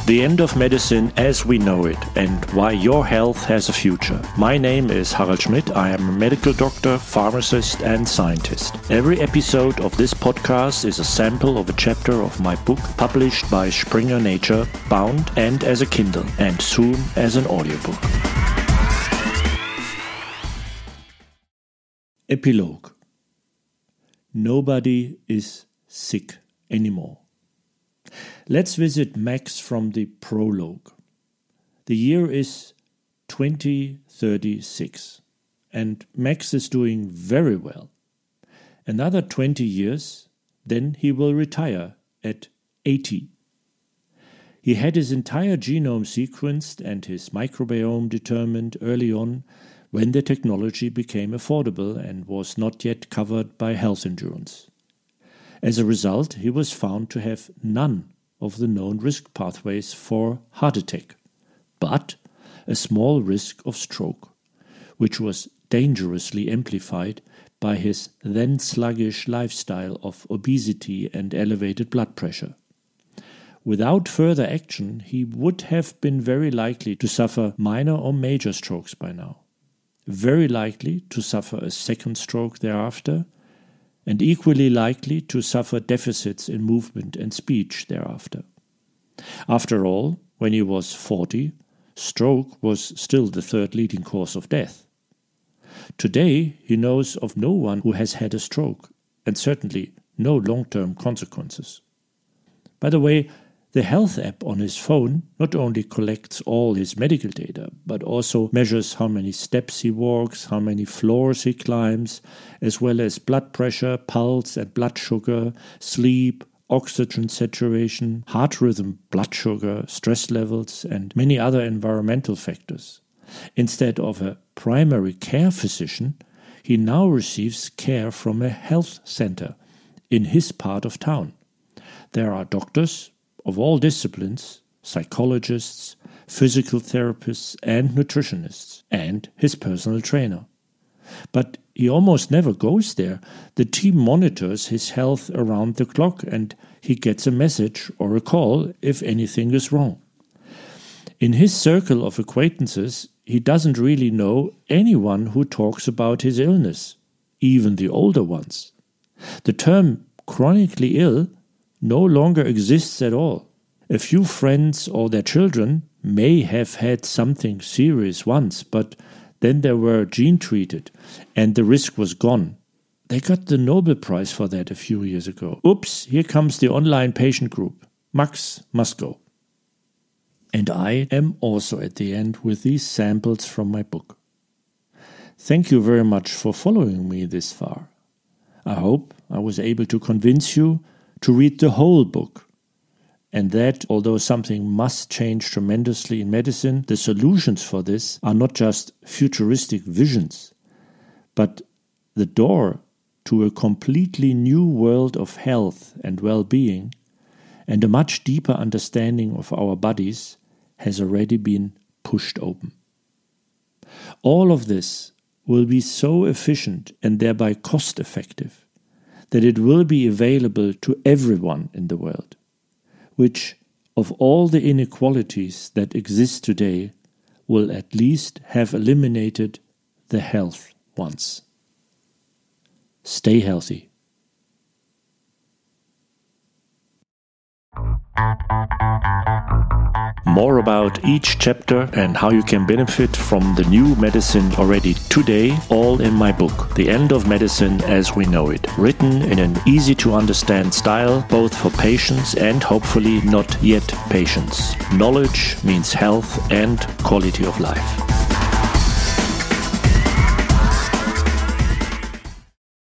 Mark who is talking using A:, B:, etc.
A: The End of Medicine as We Know It and Why Your Health Has a Future. My name is Harald Schmidt. I am a medical doctor, pharmacist and scientist. Every episode of this podcast is a sample of a chapter of my book published by Springer Nature, bound and as a Kindle and soon as an audiobook. Epilogue. Nobody is sick anymore. Let's visit Max from the prologue. The year is 2036, and Max is doing very well. Another 20 years, then he will retire at 80. He had his entire genome sequenced and his microbiome determined early on when the technology became affordable and was not yet covered by health insurance. As a result, he was found to have none of the known risk pathways for heart attack, but a small risk of stroke, which was dangerously amplified by his then sluggish lifestyle of obesity and elevated blood pressure. Without further action, he would have been very likely to suffer minor or major strokes by now, very likely to suffer a second stroke thereafter, and equally likely to suffer deficits in movement and speech thereafter. After all, when he was 40, stroke was still the third leading cause of death. Today, he knows of no one who has had a stroke, and certainly no long-term consequences. By the way, the health app on his phone not only collects all his medical data, but also measures how many steps he walks, how many floors he climbs, as well as blood pressure, pulse and blood sugar, sleep, oxygen saturation, heart rhythm, blood sugar, stress levels, and many other environmental factors. Instead of a primary care physician, he now receives care from a health center in his part of town. There are doctors of all disciplines, psychologists, physical therapists and nutritionists, and his personal trainer. But he almost never goes there. The team monitors his health around the clock and he gets a message or a call if anything is wrong. In his circle of acquaintances, he doesn't really know anyone who talks about his illness, even the older ones. The term chronically ill no longer exists at all. A few friends or their children may have had something serious once, but then they were gene-treated and the risk was gone. They got the Nobel Prize for that a few years ago. Oops, here comes the online patient group. Max must go. And I am also at the end with these samples from my book. Thank you very much for following me this far. I hope I was able to convince you to read the whole book, and that, although something must change tremendously in medicine, the solutions for this are not just futuristic visions, but the door to a completely new world of health and well-being, and a much deeper understanding of our bodies has already been pushed open. All of this will be so efficient and thereby cost-effective that it will be available to everyone in the world, which, of all the inequalities that exist today, will at least have eliminated the health ones. Stay healthy. More about each chapter and how you can benefit from the new medicine already today, all in my book, The End of Medicine as We Know It, written in an easy-to-understand style, both for patients and hopefully not yet patients. Knowledge means health and quality of life.